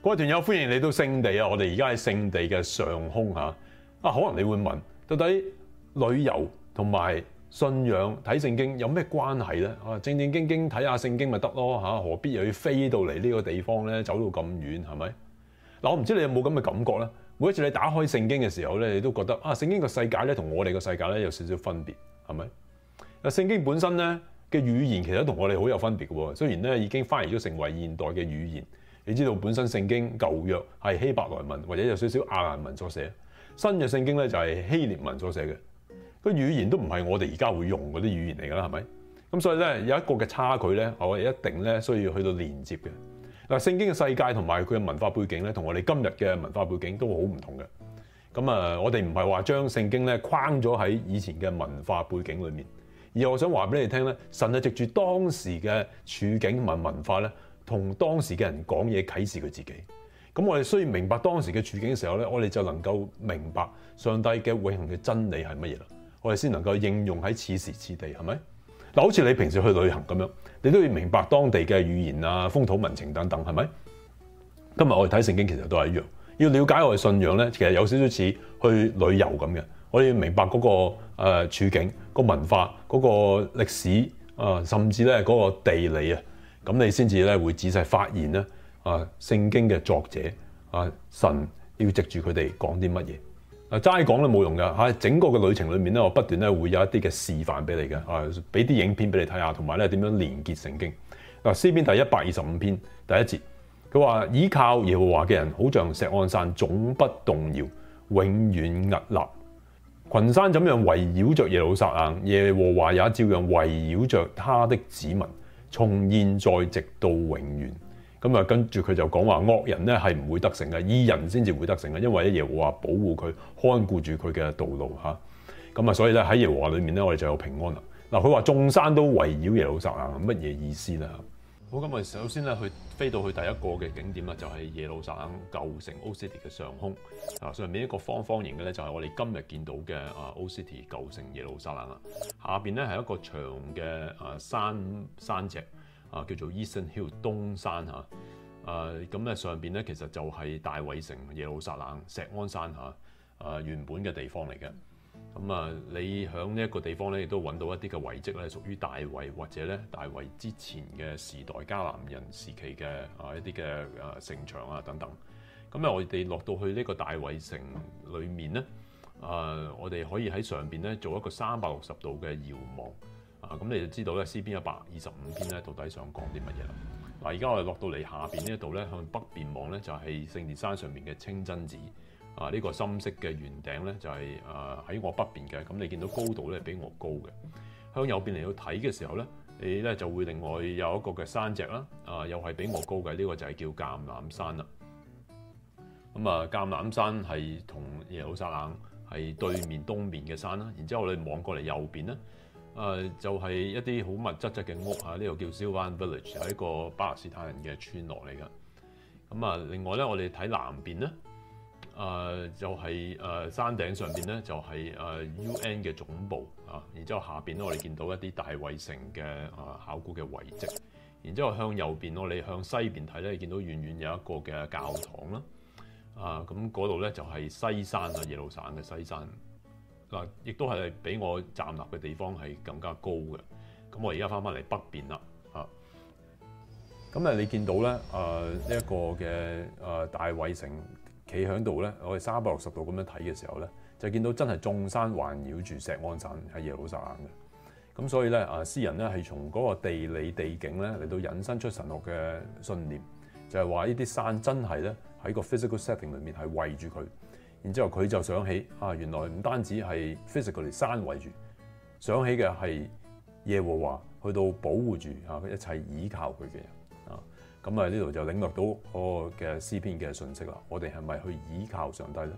各位團友，歡迎嚟到聖地啊！我哋而家喺聖地嘅上空嚇。可能你會問，到底旅遊同埋信仰睇聖經有咩關係咧？正正經經睇下聖經咪得咯嚇，何必又要飛到嚟呢個地方咧？走到咁遠係咪？嗱，我唔知你有冇咁嘅感覺咧？每一次你打開聖經嘅時候咧，你都覺得聖經個世界咧同我哋個世界咧有少少分別，係咪？聖經本身咧嘅語言其實同我哋好有分別嘅喎，雖然咧已經翻譯咗成為現代嘅語言。你知道本身聖經舊約係希伯來文或者有少少亞蘭文所寫，新嘅聖經咧就係希臘文所寫嘅，個語言都唔係我哋而家會用嗰啲語言嚟㗎啦，係咪？咁所以咧有一個嘅差距咧，我哋一定咧需要去到連接嘅。嗱，聖經嘅世界同埋佢嘅文化背景咧，同我哋今日嘅文化背景都好唔同嘅。咁我哋唔係話將聖經咧框咗喺以前嘅文化背景裏面，而我想話俾你聽咧，神係藉住當時嘅處境同埋文化咧，同當時嘅人講嘢啟示佢自己。咁我哋需要明白當時嘅處境嘅時候咧，我哋就能夠明白上帝嘅永恆嘅真理係乜嘢啦。我哋先能夠應用喺此時此地，係咪？嗱，好似你平時去旅行咁樣，你都要明白當地嘅語言啊、風土民情等等，係咪？今日我哋睇聖經其實都係一樣，要了解我哋信仰咧，其實有少少似去旅遊咁嘅。我哋要明白嗰個處境、個文化、嗰個歷史甚至咧嗰個地理啊。咁你先至咧會仔細發現咧聖經嘅作者神要藉住佢哋講啲乜嘢。齋講都冇用㗎嚇，整個嘅旅程裏面咧，我不斷咧會有一啲嘅示範俾你嘅俾啲影片俾你睇下，同埋咧點樣連結聖經。詩篇第125篇第1節，佢話倚靠耶和華嘅人，好像錫安山，總不動搖，永遠屹立。群山怎樣圍繞着耶路撒冷，耶和華也照樣圍繞着他的子民，從現在直到永遠。咁跟住佢就講話惡人咧係唔會得勝嘅，義人先至會得勝嘅，因為耶和華保護佢，看顧住佢嘅道路嚇。咁所以咧喺耶和華裏面咧，我哋就有平安啦。嗱，佢話眾山都圍繞耶路撒冷，乜嘢意思咧？好，咁我哋首先咧飛到去第一個嘅景點啦，就係耶路撒冷舊城 Old City 嘅上空。上面一個方方形嘅咧就係我哋今日見到嘅Old City 舊城耶路撒冷啦。下邊咧係一個長嘅山脊。叫做 Eastern Hill 東山嚇，咁咧上邊咧其實就係大衛城耶路撒冷錫安山嚇，原本嘅地方嚟嘅。咁你喺呢一個地方咧，亦都揾到一啲嘅遺跡咧，屬於大衛或者咧大衛之前嘅時代迦南人時期嘅一啲嘅城牆啊等等。咁我哋落到去呢個大衛城裏面咧，我哋可以喺上邊咧做一個360度嘅遙望。咁你就知道咧，詩篇125篇咧，到底想講啲乜嘢啦？嗱，而家我哋落到嚟下邊呢一度咧，向北邊望咧，就係聖殿山上面嘅清真寺。呢個深色嘅圓頂咧，就係喺我北邊嘅。咁你見到高度咧比我高嘅。向右邊嚟到睇嘅時候咧，你咧就會另外有一個嘅山脊啦。又係比我高嘅，呢個就係叫橄欖山啦。咁橄欖山係同耶路撒冷係對面東面嘅山啦。然之後你望過嚟右邊咧。就係一啲好密質質嘅屋嚇，呢個叫 Silvan Village，係一個巴勒斯坦人嘅村落嚟㗎。咁另外咧，我哋睇南邊咧，就係山頂上邊咧，就係UN 嘅總部啊。然之後下邊咧，我哋見到一啲大衛城嘅考古嘅遺跡。然之後向右邊，我哋向西邊睇咧，見到遠遠有一個嘅教堂啦。咁嗰度咧就係西山啊，耶路撒冷嘅西山。嗱，亦都係比我站立嘅地方係更加高嘅。咁我而家翻嚟北邊啦，咁你見到咧呢一個嘅大衛城企喺度咧，我哋360度咁樣睇嘅時候咧，就見到真係眾山環繞住錫安山係耶路撒冷嘅。咁所以咧詩人咧係從嗰個地理地景咧嚟到引申出神學嘅信念，就係話呢啲山真係咧喺個 physical setting 裏面係圍住佢。然之後佢就想起原來唔單止係 physically 山圍住，想起嘅係耶和華去到保護住一切倚靠佢嘅人啊。咁呢度就領略到嗰個嘅詩篇嘅信息啦。我哋係咪去倚靠上帝咧？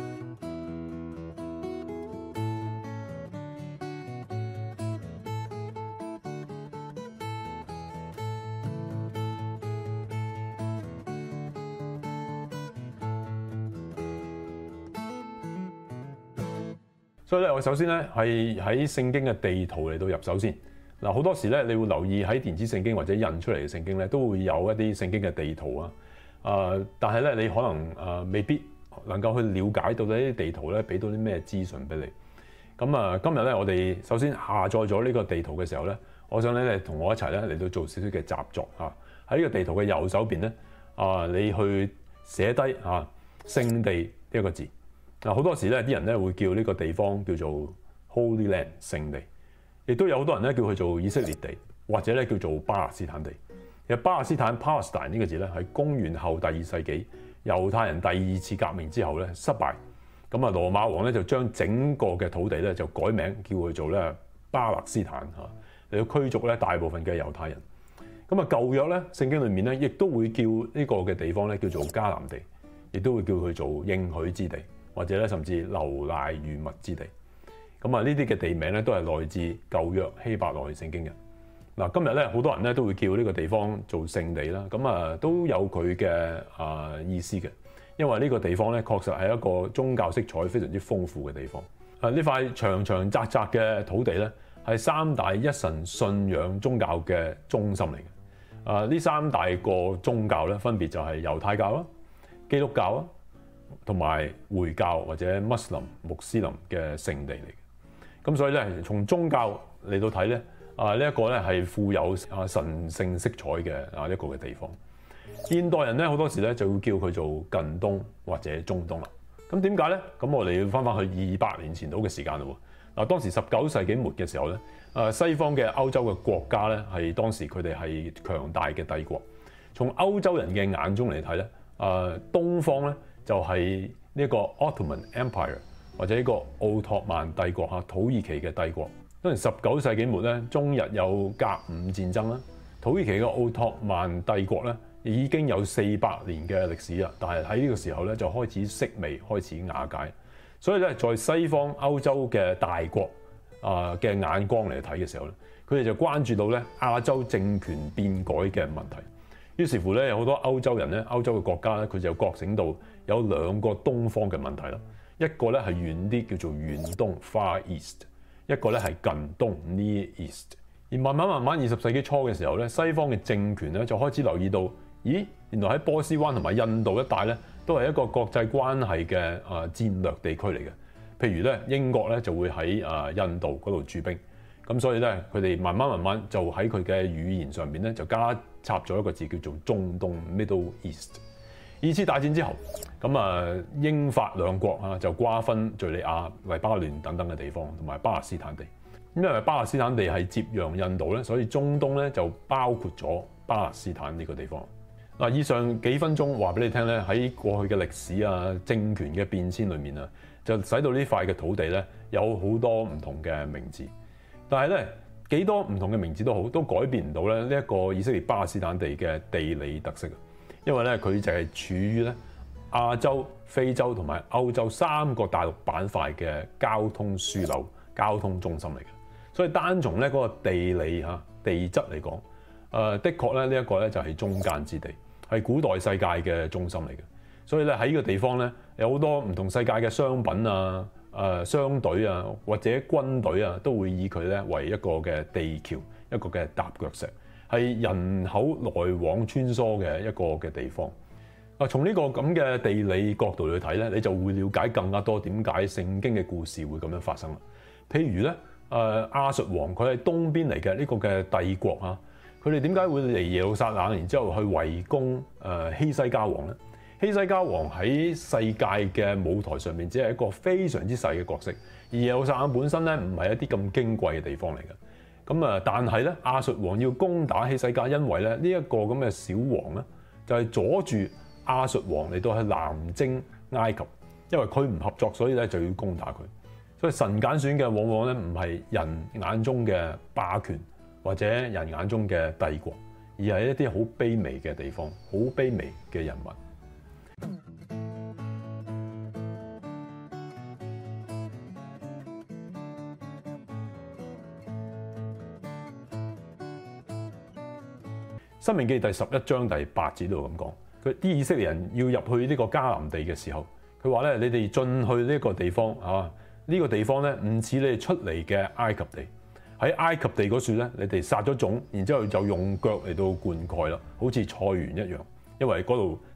所以咧，我首先咧係喺聖經嘅地圖嚟到入手先。嗱，好多時咧，你會留意喺電子聖經或者印出嚟嘅聖經咧，都會有一啲聖經嘅地圖啊。 但係咧你可能未必能夠去了解到呢啲地圖咧俾到啲咩資訊俾你。咁今日咧我哋首先下載咗呢個地圖嘅時候咧，我想咧你同我一齊咧嚟到做少少嘅習作嚇。喺呢個地圖嘅右手邊咧，你去寫低聖地呢一個字。好多時咧啲人咧會叫呢個地方叫做 Holy Land 聖地，亦都有好多人咧叫佢做以色列地，或者咧叫做巴勒斯坦地。其實巴勒斯坦 Palestine 呢個字咧係公元後第2世紀猶太人第2次革命之後咧失敗，咁羅馬王咧就將整個嘅土地咧就改名叫佢做咧巴勒斯坦嚟到驅逐咧大部分嘅猶太人。咁舊約咧聖經裏面咧亦都會叫呢個嘅地方咧叫做迦南地，亦都會叫佢做應許之地，或者咧甚至流奶與蜜之地。咁呢啲嘅地名咧都係來自舊約希伯來聖經嘅。嗱，今日咧好多人咧都會叫呢個地方做聖地啦，咁都有佢嘅意思嘅，因為呢個地方咧確實係一個宗教色彩非常之豐富嘅地方。呢塊長長窄窄嘅土地咧係三大一神信仰宗教嘅中心嚟嘅。呢三大個宗教咧分別就係猶太教啦、基督教啦，同埋回教或者穆斯林嘅聖地嚟嘅。咁所以咧從宗教嚟到睇咧。呢一個咧係富有神聖色彩嘅一個嘅地方。現代人咧好多時咧就會叫佢做近東或者中東啦。咁點解咧？咁我哋要翻去200年前度嘅時間嘞喎。嗱，當時19世紀末嘅時候咧，西方嘅歐洲嘅國家咧係當時佢哋係強大嘅帝國。從歐洲人嘅眼中嚟睇咧，東方咧就係呢個 Ottoman Empire 或者呢個奧托曼帝國嚇，土耳其嘅帝國。當時19世紀末咧，中日有甲午戰爭啦。土耳其嘅奧托曼帝國咧已經有400年嘅歷史啦，但係喺呢個時候咧就開始式微，開始瓦解。所以咧，在西方歐洲嘅大國嘅眼光嚟睇嘅時候咧，佢哋就關注到咧亞洲政權變改嘅問題。於是乎咧，有好多歐洲人咧，歐洲嘅國家咧，佢就覺醒到有兩個東方嘅問題啦。一個咧係遠啲，叫做遠東 （Far East）。一個咧係近東 Near East， 而慢慢20世紀初嘅時候咧，西方嘅政權咧就開始留意到，咦，原來喺波斯灣同埋印度一帶咧，都係一個國際關係嘅戰略地區嚟嘅。譬如咧，英國咧就會喺印度嗰度駐兵，咁所以咧佢哋慢慢就喺佢嘅語言上邊咧就加插咗一個字叫做中東 Middle East。二次大戰之後，咁英法兩國就瓜分敍利亞、黎巴嫩等等嘅地方，同埋巴勒斯坦地。因為巴勒斯坦地係接壤印度咧，所以中東咧就包括咗巴勒斯坦呢個地方。嗱，以上幾分鐘話俾你聽咧，喺過去嘅歷史政權嘅變遷裏面就使到呢塊嘅土地咧有好多唔同嘅名字。但係咧幾多唔同嘅名字都好，都改變唔到咧呢一個以色列巴勒斯坦地嘅地理特色。因為咧，佢就係處於咧亞洲、非洲同埋歐洲3個大陸板塊嘅交通樞紐、交通中心嚟嘅。所以單從咧嗰個地理地質嚟講，的確咧呢一個咧就係中間之地，係古代世界嘅中心嚟嘅。所以咧喺呢個地方咧有好多唔同世界嘅商品商隊或者軍隊都會以佢咧為一個嘅地橋、一個嘅踏腳石。係人口來往穿梭嘅一個嘅地方。從呢個咁嘅地理角度去睇咧，你就會了解更加多點解聖經嘅故事會咁樣發生啦。譬如咧，亞述王佢係東邊嚟嘅呢個嘅帝國佢哋點解會嚟耶路撒冷，然之後去圍攻希西家王咧？希西家王喺世界嘅舞台上面只係一個非常之細嘅角色，而耶路撒冷本身咧唔係一啲咁矜貴嘅地方嚟嘅。但係咧，亞述王要攻打希西家，因為咧呢一個咁嘅小王咧，就係阻住亞述王嚟到去南征埃及，因為佢唔合作，所以咧就要攻打佢。所以神揀選嘅往往咧唔係人眼中嘅霸權或者人眼中嘅帝國，而係一啲好卑微嘅地方，好卑微嘅人物。申命記第11章第8節度咁講，佢啲以色列人要入去呢個迦南地嘅時候，佢話咧：你哋進去呢個地方呢個地方咧唔似你哋出嚟嘅埃及地。喺埃及地嗰處咧，你哋撒咗種，然之後就用腳嚟到灌溉啦，好似菜園一樣，因為嗰度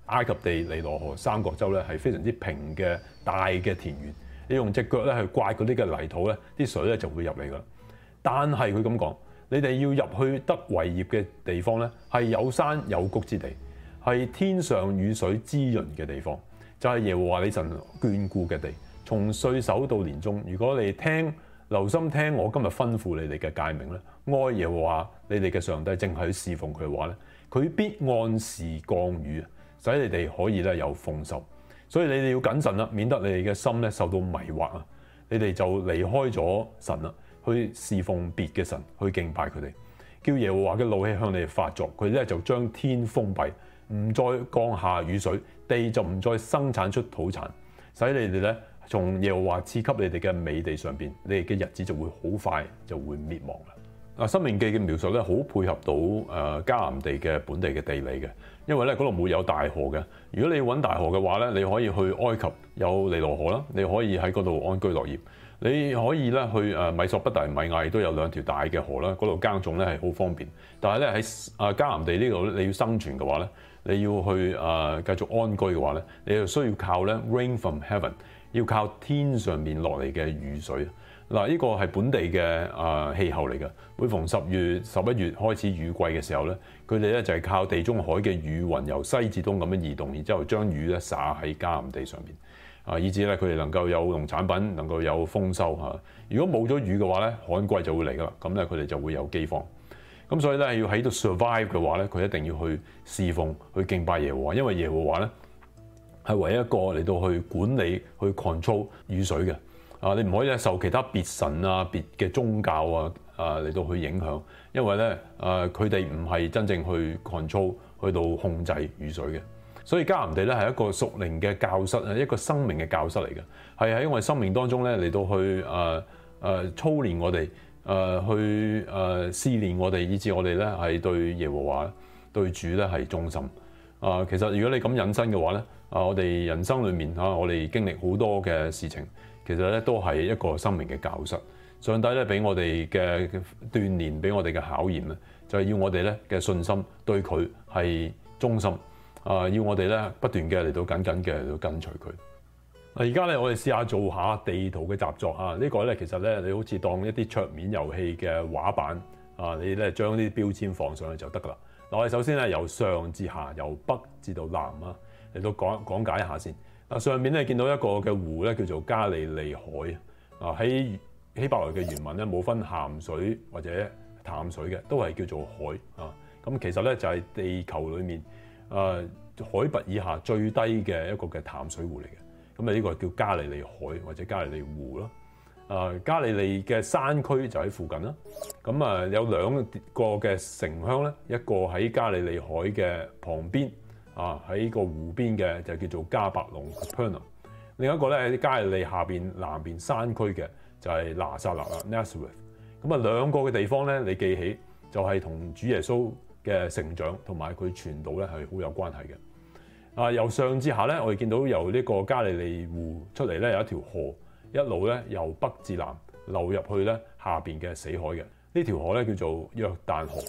埃及地、尼羅河三角洲咧係非常之平嘅大嘅田園，你用隻腳咧去刮嗰啲嘅泥土咧，啲水咧就會入嚟噶啦。但係佢咁講，你哋要入去得為業嘅地方咧，係有山有谷之地，係天上雨水滋潤嘅地方，就係耶和華你神眷顧嘅地。從歲首到年終，如果你留心聽我今日吩咐你哋嘅誡命咧，愛耶和華你哋嘅上帝，正係去侍奉佢嘅話咧，佢必按時降雨，使你哋可以咧有豐收。所以你哋要謹慎啦，免得你哋嘅心咧受到迷惑啊！你哋就離開咗神啦，去侍奉別嘅神，去敬拜佢哋，叫耶和華嘅怒氣向你哋發作，佢咧就將天封閉，唔再降下雨水，地就唔再生產出土產，使你哋咧從耶和華賜給你哋嘅美地上邊，你哋嘅日子就會好快就會滅亡啦。嗱，申命記嘅描述咧，好配合到迦南地嘅本地嘅地理嘅，因為咧嗰度冇有大河嘅。如果你要揾大河嘅話咧，你可以去埃及有尼羅河啦，你可以喺嗰度安居樂業。你可以咧去米索不達米亞亦都有兩條大嘅河啦，嗰度耕種咧係好方便。但係咧喺迦南地呢度你要生存嘅話咧，你要去繼續安居嘅話咧，你就需要靠咧 rain from heaven， 要靠天上面落嚟嘅雨水。嗱，呢個係本地嘅氣候嚟嘅。每逢10月、11月開始雨季嘅時候咧，佢哋咧就係靠地中海嘅雨雲由西至東咁樣移動，然之後將雨咧灑喺迦南地上面，以至咧佢哋能夠有農產品，能夠有豐收嚇。如果冇咗雨嘅話咧，旱季就會嚟噶啦，咁咧佢哋就會有饑荒。咁所以咧要喺度 survive 嘅話咧，佢一定要去侍奉、去敬拜耶和華，因為耶和華咧係唯一一個嚟到去管理、去 control 雨水嘅。你唔可以咧受其他別神啊、別嘅宗教嚟到去影響，因為咧佢哋唔係真正去 control 去到控制雨水嘅。所以迦南地咧係一個屬靈嘅教室啊，一個生命嘅教室嚟嘅，係喺我哋生命當中咧嚟到去操練我哋，去試煉我哋，以致我哋咧係對耶和華、對主咧係忠心。其實如果你咁引申嘅話咧，我哋人生裏面我哋經歷好多嘅事情。其實咧都係一個生命嘅教室，上帝咧俾我哋嘅鍛鍊，俾我哋嘅考驗咧，就係要我哋咧嘅信心對佢係忠心，要我哋咧不斷嘅嚟到緊緊嘅嚟到跟隨佢。而家咧我哋試下做下地圖嘅習作啊！呢個咧其實咧你好似當一啲桌面遊戲嘅畫板你咧將啲標籤放上去就得噶啦。嗱，我哋首先咧由上至下，由北至到南嚟到講解一下先。上面咧見到一個嘅湖咧叫做加利利海喺希伯來嘅原文咧冇分鹹水或者淡水嘅，都係叫做海咁其實咧就係地球裏面海拔以下最低嘅一個嘅淡水湖嚟嘅。咁呢個叫加利利海或者加利利湖啦。加利利嘅山區就喺附近啦。咁有兩個嘅城鄉咧，一個喺加利利海嘅旁邊。喺個湖邊嘅就叫做加百隆 Capernaum， 另一個咧喺加利利下邊南邊山區嘅就係拿撒勒啦 Nazareth。咁兩個嘅地方咧，你記起就係同主耶穌嘅成長同埋佢傳道咧係好有關係嘅。由上至下咧，我哋見到由呢個加利利湖出嚟咧有一條河，一路咧由北至南流入去咧下邊嘅死海嘅。呢條河咧叫做約旦河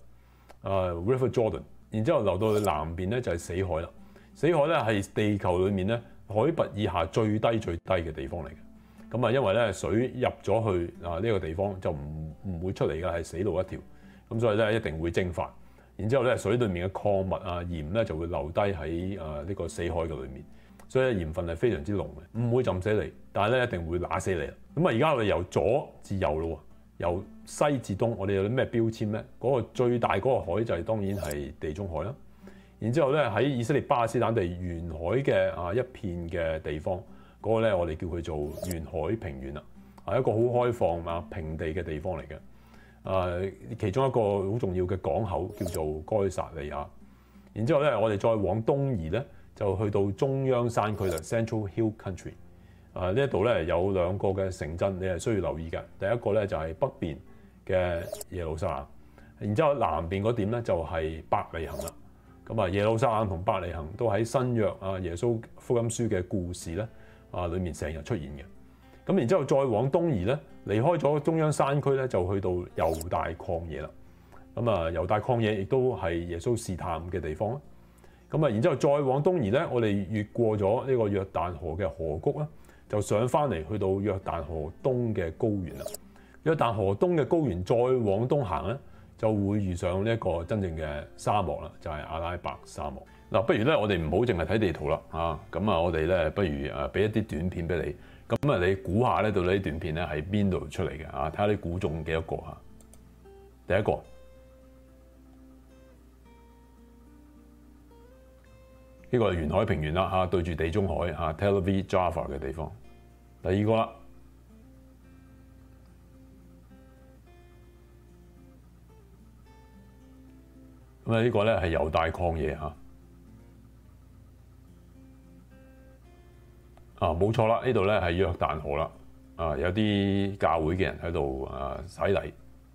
，River Jordan。然之後流到去南邊咧就係死海啦。死海咧係地球裏面咧海拔以下最低嘅地方嚟嘅。咁因為咧水入咗去呢個地方就唔會出嚟嘅，係死路一條。咁所以咧一定會蒸發。然之後咧水裏面嘅礦物鹽咧就會留低喺呢個死海嘅裏面。所以鹽分係非常之濃嘅，唔會浸死你，但係咧一定會揦死你。咁而家我哋由左至右咯。由西至東，我哋有啲咩標籤咧？嗰個最大嗰個海就係當然係地中海啦。然之後咧喺以色列巴勒斯坦地沿海嘅一片嘅地方，嗰個咧我哋叫佢做沿海平原啦，係一個好開放平地嘅地方嚟嘅。其中一個好重要嘅港口叫做該撒利亞。然之後咧我哋再往東移咧，就去到中央山區啦 ，Central Hill Country。呢一度咧有兩個嘅城鎮，你係需要留意嘅。第一個咧就係北邊嘅耶路撒冷，然之後南邊嗰點咧就係伯利恆啦。咁耶路撒冷同伯利恆都喺新約耶穌福音書嘅故事咧裏面成日出現嘅。咁然之後再往東移咧，離開咗中央山區咧，就去到猶大曠野啦。咁猶大曠野亦都係耶穌試探嘅地方啦。 咁啊，然之後再往東移咧，我哋越過咗呢個約旦河嘅河谷啦，就上翻嚟去到約旦河東嘅高原啦。約旦河東嘅高原再往東行咧，就會遇上呢一個真正嘅沙漠啦，就係阿拉伯沙漠。嗱，不如咧，我哋唔好淨係睇地圖啦，咁啊，我哋咧不如俾一啲短片俾你，咁啊，你估下咧，到底啲短片咧喺邊度出嚟嘅啊？睇下你估中幾多個嚇？第一個，呢個係沿海平原啦，對住地中海Tel Aviv Jaffa 嘅地方。第二個啦，咁啊，呢個咧係猶大曠野嚇。冇錯啦，呢度咧係約旦河啦，有啲教會嘅人喺度洗禮。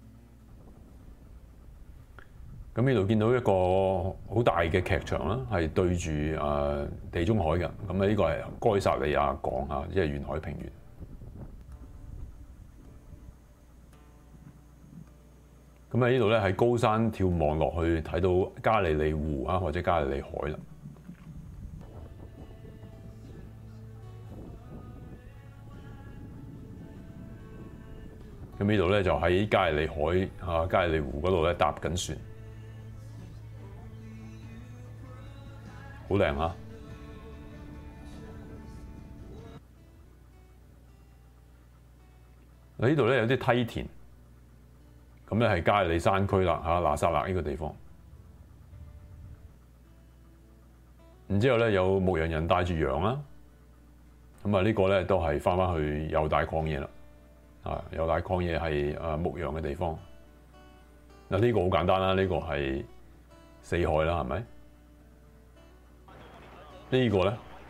咁呢度見到一個好大嘅劇場啦，係對住地中海嘅。咁呢個係該撒利亞港嚇，即係沿海平原。咁呢度咧喺高山眺望落去，睇到加利利湖或者加利利海啦。咁呢度咧就喺加利利海加利利湖嗰度咧搭緊船，好靚嚇！呢度咧有啲梯田，咁咧係加利利山區啦拿撒勒呢個地方。然之後咧有牧羊人帶住羊啦，咁呢個咧都係翻去猶大曠野啦。猶大曠野係牧羊嘅地方。嗱，呢個好簡單啦，呢個係死海啦，係咪？呢個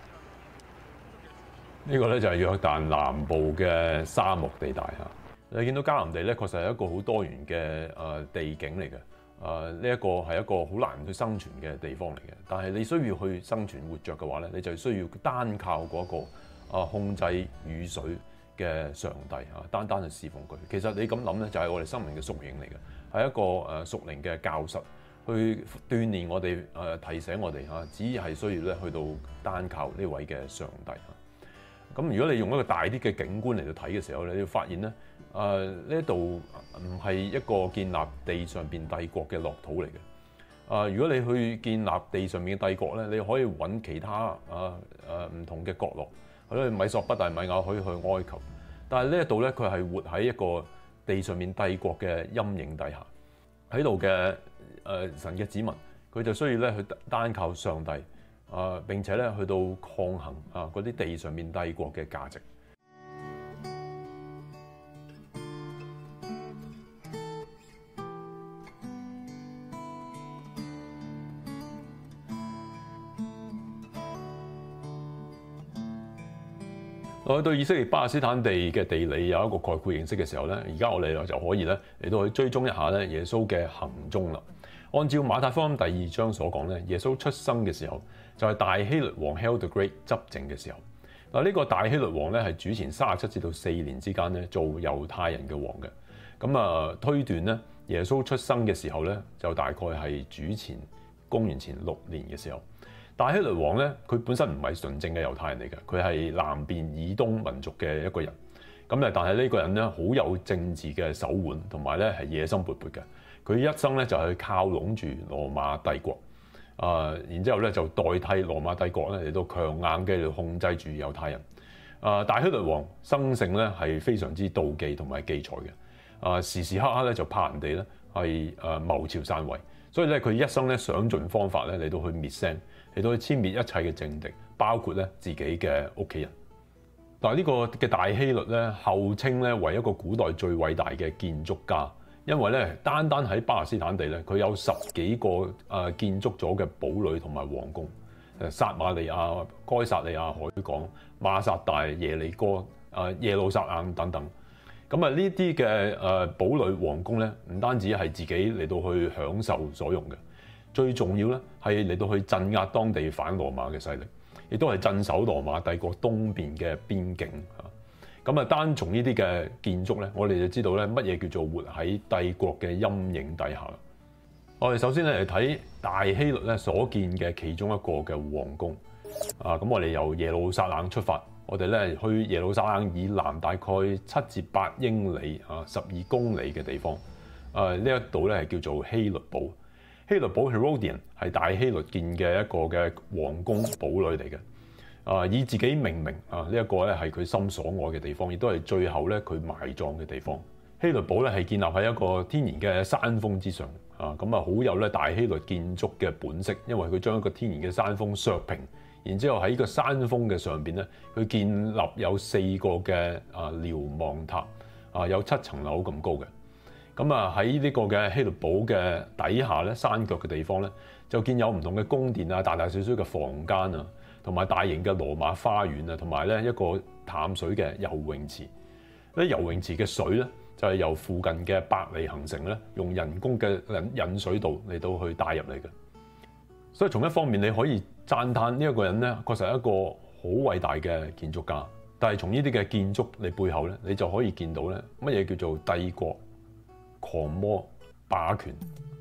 咧就係約旦南部嘅沙漠地帶嚇。你見到迦南地咧，確實係一個好多元嘅地景嚟嘅。呢一個係一個好難去生存嘅地方嚟嘅。但係你需要去生存活着嘅話咧，你就需要單靠嗰個控制雨水嘅上帝單單去侍奉佢。其實你咁諗咧，就係我哋生命嘅縮影嚟嘅，係一個屬靈嘅教室，去鍛鍊我哋提醒我哋只係需要咧去到單靠呢位嘅上帝。咁如果你用一個大啲嘅景觀嚟到睇嘅時候咧，你會發現咧呢一度唔係一個建立地上邊帝國嘅樂土嚟嘅。如果你去建立地上面嘅帝國咧，你可以揾其他唔同嘅角落。去米索不達米亞，可以去埃及，但係呢一度咧，佢係活喺一個地上面帝國嘅陰影底下，喺度嘅神嘅子民，佢就需要咧去單靠上帝並且咧去到抗衡嗰啲地上面帝國嘅價值。我去到以色列巴勒斯坦地嘅地理有一個概括認識嘅時候咧，而家我哋就可以咧嚟到去追蹤一下咧耶穌嘅行蹤啦。按照馬太福音第2章所講咧，耶穌出生嘅時候就係大希律王 Herod the Great 執政嘅時候。嗱，呢個大希律王咧係主前37至到4年之間咧做猶太人嘅王嘅。咁推斷咧耶穌出生嘅時候咧就大概係公元前6年嘅時候。大希律王咧，佢本身唔係純正嘅猶太人嚟嘅，佢係南邊以東民族嘅一個人。咁但係呢個人咧好有政治嘅手腕，同埋咧係野心勃勃嘅。佢一生咧就係靠攏住羅馬帝國，然之後咧就代替羅馬帝國咧嚟到強硬嘅嚟控制住猶太人。大希律王生性咧係非常之妒忌同埋忌才嘅，時時刻刻咧就怕人哋咧係謀朝篡位，所以咧佢一生咧想盡方法咧嚟到去滅聲。嚟到去殲滅一切嘅政敵，包括咧自己嘅屋企人。但係呢個嘅大希律咧，後稱咧為一個古代最偉大嘅建築家，因為咧單單喺巴勒斯坦地咧，佢有10幾個建築咗嘅堡壘同埋皇宮，撒馬利亞、該撒利亞海港、馬薩大、耶利哥、耶路撒冷等等。咁呢啲嘅堡壘皇宮咧，唔單止係自己嚟到去享受所用嘅。最重要咧，係嚟到去鎮壓當地反羅馬嘅勢力，亦都係鎮守羅馬帝國東邊嘅邊境嚇。咁單從呢啲嘅建築咧，我哋就知道咧乜嘢叫做活喺帝國嘅陰影底下啦。 我哋首先咧嚟睇大希律咧所建嘅其中一個嘅皇宮。咁我哋由耶路撒冷出發，我哋咧去耶路撒冷以南大概7至8英里12公里嘅地方。呢一度咧係叫做希律堡。希律堡 Herodian 係大希律建嘅一個嘅皇宮堡壘嚟嘅。以自己命名呢一個咧係佢心所愛嘅地方，亦都係最後咧佢埋葬嘅地方。希律堡咧係建立喺一個天然嘅山峰之上。咁好有咧大希律建築嘅本色，因為佢將一個天然嘅山峰削平，然之後喺個山峰嘅上邊咧，佢建立有4個嘅瞭望塔，有7層樓咁高嘅。咁喺呢個嘅希律堡嘅底下咧，山腳嘅地方咧，就建有唔同嘅宮殿啊，大大小小嘅房間啊，同埋大型嘅羅馬花園啊，同埋咧一個淡水嘅游泳池。呢游泳池嘅水咧，就係由附近嘅伯利恆城咧，用人工嘅引水道嚟到去帶入嚟嘅。所以從一方面你可以讚歎呢一個人咧，確實係一個好偉大嘅建築家。但係從呢啲嘅建築你背後咧，你就可以見到咧乜嘢叫做帝國、狂魔、霸權。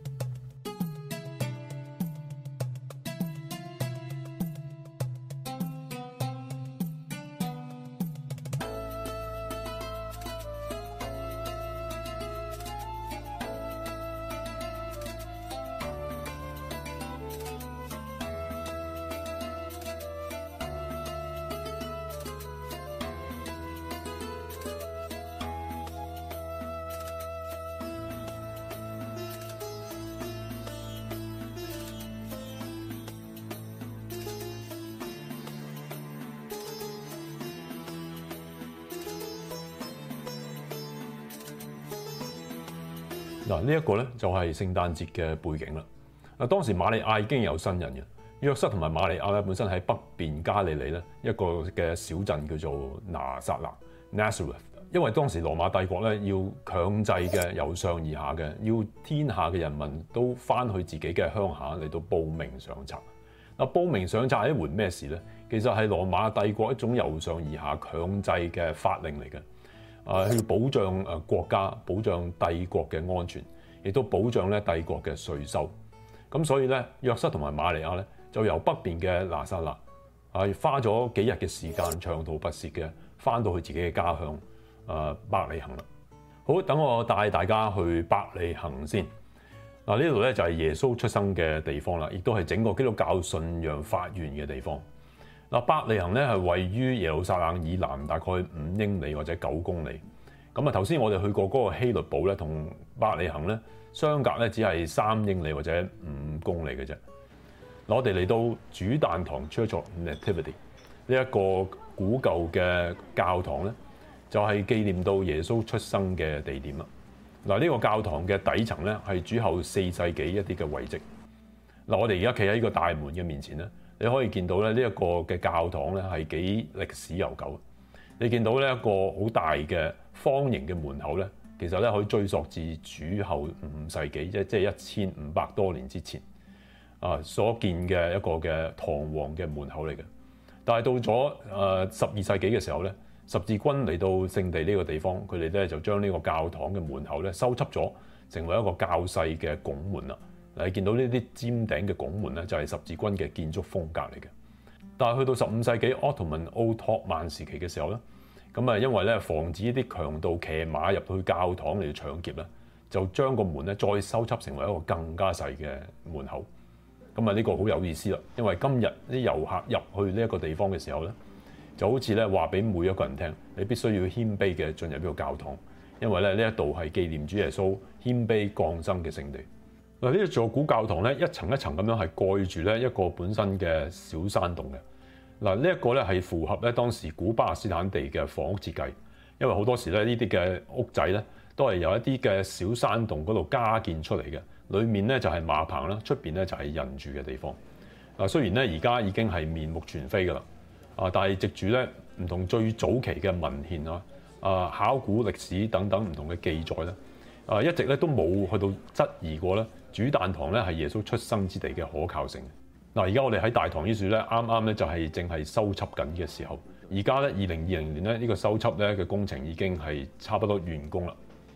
嗱，呢一個咧就係聖誕節嘅背景啦。當時瑪利亞已經有新人嘅，約瑟同埋瑪利亞咧本身喺北邊加利利咧一個嘅小鎮叫做拿撒勒 （Nazareth）。因為當時羅馬帝國咧要強制嘅由上而下嘅，要天下嘅人民都翻去自己嘅鄉下嚟到報名上冊。報名上冊係一回咩事咧？其實係羅馬帝國一種由上而下強制嘅法令嚟嘅。去保障國家、保障帝國嘅安全，亦都保障咧帝國嘅稅收。咁所以咧，約瑟同埋瑪利亞咧就由北邊嘅拿撒勒花咗幾日嘅時間，長途跋涉嘅翻到去自己嘅家鄉伯利恆啦。好，等我帶大家去伯利恆先。呢度咧就係耶穌出生嘅地方啦，亦都係整個基督教信仰發源嘅地方。伯利恆咧係位於耶路撒冷以南大概5英里或者9公里。咁頭先我哋去過嗰個希律堡咧，同伯利恆咧相隔咧只係3英里或者5公里嘅啫。我哋嚟到主誕堂 Church of Nativity 呢一個古舊嘅教堂咧，就係紀念到耶穌出生嘅地點啦。呢個教堂嘅底層咧係主後4世紀一啲嘅遺跡。我哋而家企喺呢個大門嘅面前咧，你可以見到咧呢一個嘅教堂咧係幾歷史悠久。你見到呢一個好大嘅方形嘅門口咧，其實咧可以追溯至主後5世紀，即係1500多年之前所建嘅一個嘅堂皇嘅門口嚟嘅。但係到咗12世紀嘅時候咧，十字軍嚟到聖地呢個地方，佢哋咧就將呢個教堂嘅門口咧修葺咗，成為一個較細嘅拱門啦。你見到呢啲尖頂嘅拱門咧，就係十字軍嘅建築風格嚟嘅。但係去到15世紀奧托曼時期嘅時候咧，咁因為咧防止一啲強盜騎馬入去教堂嚟搶劫咧，就將個門咧再修葺成為一個更加細嘅門口。呢個好有意思啦，因為今日啲遊客入去呢一個地方嘅時候咧，就好似咧話俾每一個人聽，你必須要謙卑嘅進入呢個教堂，因為咧呢一度係紀念主耶穌謙卑降生嘅聖地。呢一座古教堂咧，一層一層咁樣係蓋住咧一個本身嘅小山洞嘅。呢一個咧係符合咧當時古巴勒斯坦地嘅房屋設計，因為好多時咧呢啲嘅屋仔咧都係由一啲嘅小山洞嗰度加建出嚟嘅，裡面咧就係馬棚啦，出邊咧就係人住嘅地方。雖然咧而家已經係面目全非㗎啦，但係藉住咧唔同最早期嘅文獻考古歷史等等唔同嘅記載咧，一直咧都冇去到質疑過咧主誕堂咧係耶穌出生之地嘅可靠性。而家我哋喺大堂呢處咧，啱啱咧就係正係修葺緊嘅時候。而家咧2020年咧呢個修葺咧嘅工程已經係差不多完工啦。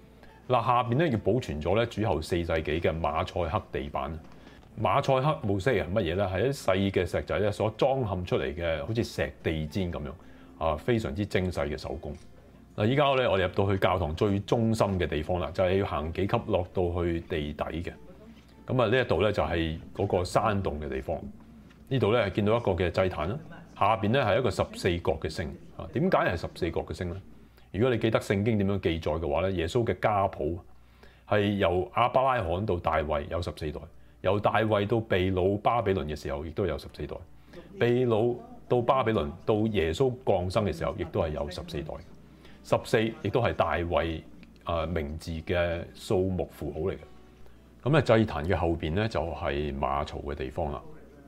嗱，下邊咧要保存咗咧主後4世紀嘅馬賽克地板。馬賽克模式係乜嘢咧？係一細嘅石仔咧所裝嵌出嚟嘅，好似石地氈咁樣啊，非常之精細嘅手工。嗱，依家咧我哋入到去教堂最中心嘅地方啦，就係要行幾級落到去地底嘅。咁啊，呢一度咧就係嗰個山洞嘅地方。呢度咧係見到一個嘅祭壇啦，下邊咧係一個14角嘅星啊。點解係14角嘅星咧？如果你記得聖經點樣記載嘅話咧，耶穌嘅家譜係由亞伯拉罕到大衛有14代，由大衛到被擄巴比倫嘅時候，亦都有14代，被擄到巴比倫到耶穌降生嘅時候，亦都係有14代。14亦都係大衛名字嘅數目符號嚟嘅。咁咧祭壇嘅後邊咧就係馬槽嘅地方啦。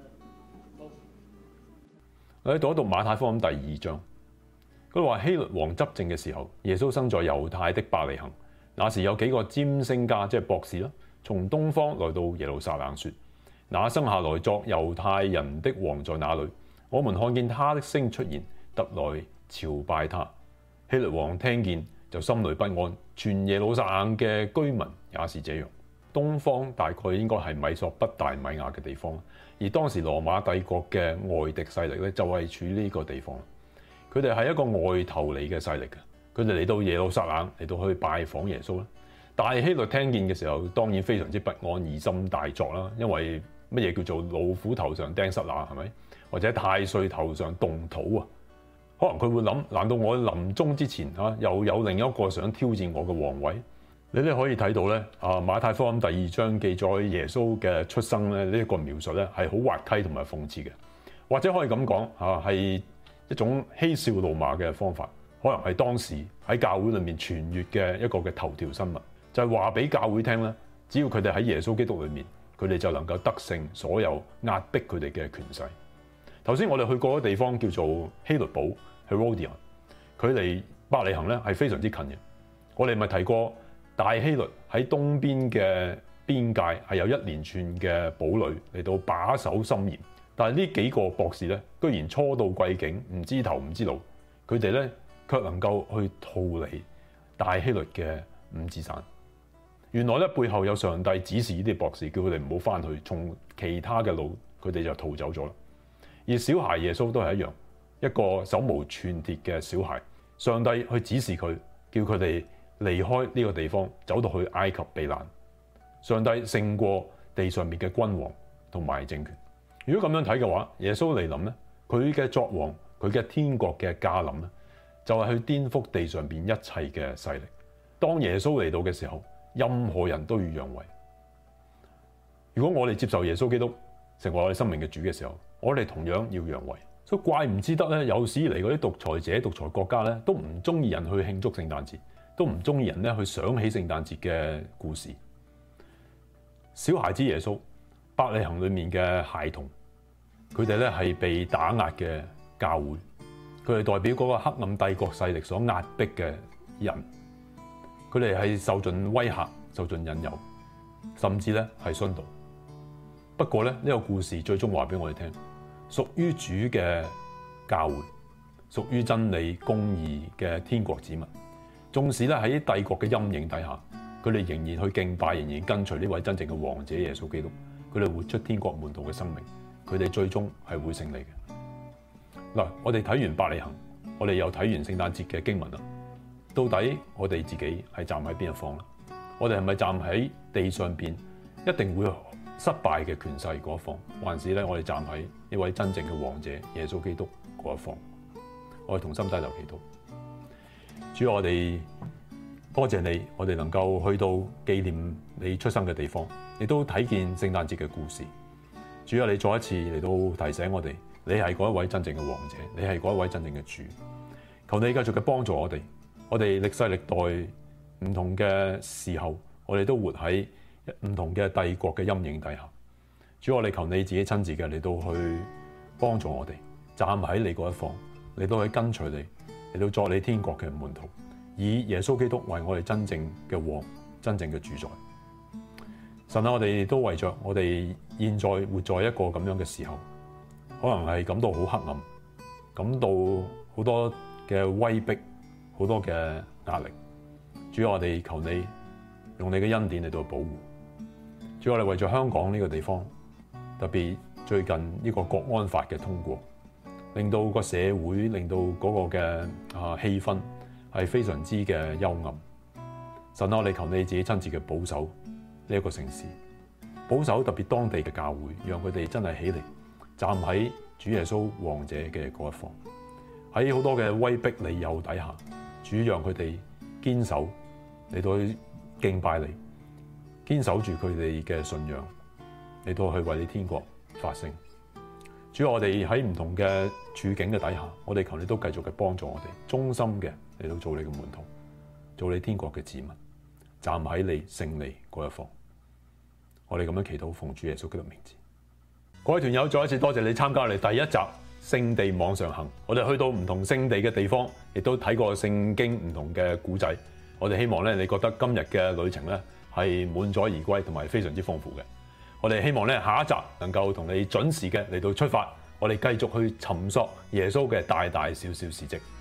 我喺讀一讀馬太福音第2章。佢話希律王執政嘅時候，耶穌生在猶太的伯利恆。那時有幾個占星家，即係博士啦，從東方來到耶路撒冷，說：那生下來作猶太人的王在哪裏？我們看見他的星出現，特來朝拜他。希律王聽見就心裏不安，全耶路撒冷嘅居民也是這樣。東方大概應該係米索不達米亞嘅地方，而當時羅馬帝國嘅外敵勢力咧就係處於呢個地方。佢哋係一個外頭嚟嘅勢力嘅，佢哋嚟到耶路撒冷嚟到去拜訪耶穌啦。大希律聽見嘅時候，當然非常之不安，疑心大作啦。因為乜嘢叫做老虎頭上釘塞那，係咪？或者太歲頭上動土啊？可能佢會諗：難道我臨終之前又有另一個想挑戰我嘅皇位？你哋可以睇到咧，馬太福音第2章記載耶穌嘅出生咧，呢一個描述咧係好滑稽同埋諷刺嘅，或者可以咁講係一種嬉笑怒罵嘅方法，可能係當時喺教會裏面傳閱嘅一個嘅頭條新聞，就係話俾教會聽咧，只要佢哋喺耶穌基督裏面，佢哋就能夠得勝所有壓迫佢哋嘅權勢。頭先我哋去過嘅地方叫做希律堡 Herodion， 距離伯利恆咧係非常之近嘅。我哋咪提過大希律喺東邊嘅邊界係有一連串嘅堡壘嚟到把守森嚴。但係呢幾個博士咧，居然初到貴境，唔知頭唔知路，佢哋咧卻能夠去逃離大希律嘅五指山。原來咧背後有上帝指示呢啲博士，叫佢哋唔好翻去，從其他嘅路，佢哋就逃走咗啦。而小孩耶穌都係一樣，一個手無寸鐵嘅小孩，上帝去指示佢，叫佢哋離開呢個地方，走到去埃及避難。上帝勝過地上面嘅君王同埋政權。如果咁樣睇嘅話，耶穌嚟臨咧，佢嘅作王，佢嘅天國嘅駕臨咧，就係去顛覆地上邊一切嘅勢力。當耶穌嚟到嘅時候，任何人都要讓位。如果我哋接受耶穌基督成為我哋生命嘅主嘅時候，我哋同樣要讓位。所以怪唔之得咧，有史以嚟嗰啲獨裁者、獨裁國家咧，都唔中意人去慶祝聖誕節，都唔中意人咧去想起聖誕節嘅故事。小孩子耶穌，伯利恆裏面嘅孩童。佢哋咧係被打壓嘅教會，佢哋代表嗰個黑暗帝國勢力所壓迫嘅人，佢哋係受盡威嚇、受盡引誘，甚至咧係殉道。不過咧，呢個故事最終話俾我哋聽，屬於主嘅教會，屬於真理公義嘅天國子民，縱使咧喺帝國嘅陰影底下，佢哋仍然去敬拜，仍然跟隨呢位真正嘅王者耶穌基督，佢哋活出天國門徒嘅生命。佢哋最終係會勝利嘅。嗱，我哋睇完伯利恆，我哋又睇完聖誕節嘅經文啦。到底我哋自己係站喺邊一方咧？我哋係咪站喺地上邊一定會失敗嘅權勢嗰一方，還是咧我哋站喺呢位真正嘅王者耶穌基督嗰一方？我哋同心低頭祈禱。主，我哋多謝你，我哋能夠去到紀念你出生嘅地方，亦都睇見聖誕節嘅故事。主啊，你再一次嚟到提醒我哋，你係嗰一位真正嘅王者，你係嗰一位真正嘅主。求你繼續嘅幫助我哋，我哋歷世歷代唔同嘅時候，我哋都活喺唔同嘅帝國嘅陰影底下。主，我哋求你自己親自嘅嚟到去幫助我哋，站喺你嗰一方，嚟到去跟隨你，嚟到作你天國嘅門徒，以耶穌基督為我哋真正嘅王，真正嘅主宰。神啊，我哋都為着我哋現在活在一個咁樣嘅時候，可能係感到好黑暗，感到好多嘅威逼，好多嘅壓力。主，我哋求你用你嘅恩典嚟到保護。主，我哋為咗香港呢個地方，特別最近呢個國安法嘅通過，令到個社會，令到嗰個嘅氣氛係非常之嘅幽暗。神啊，我哋求你自己親自嘅保守呢一個城市，保守特別當地嘅教會，讓佢哋真係起嚟站喺主耶穌王者嘅嗰一方。喺好多嘅威逼利誘底下，主讓佢哋堅守嚟到去敬拜你，堅守住佢哋嘅信仰，嚟到去為你天國發聲。主，我哋喺唔同嘅處境嘅底下，我哋求你都繼續嘅幫助我哋，忠心嘅嚟到做你嘅門徒，做你天國嘅子民，站喺你勝利嗰一方。我哋咁樣祈禱，奉主耶穌基督名字。各位團友，再一次多謝你參加我哋第一集聖地網上行。我哋去到唔同聖地嘅地方，亦都睇過聖經唔同嘅古仔。我哋希望咧，你覺得今日嘅旅程咧係滿載而歸，同埋非常之豐富嘅。我哋希望咧，下一集能夠同你準時嘅嚟到出發，我哋繼續去尋索耶穌嘅大大小小事蹟。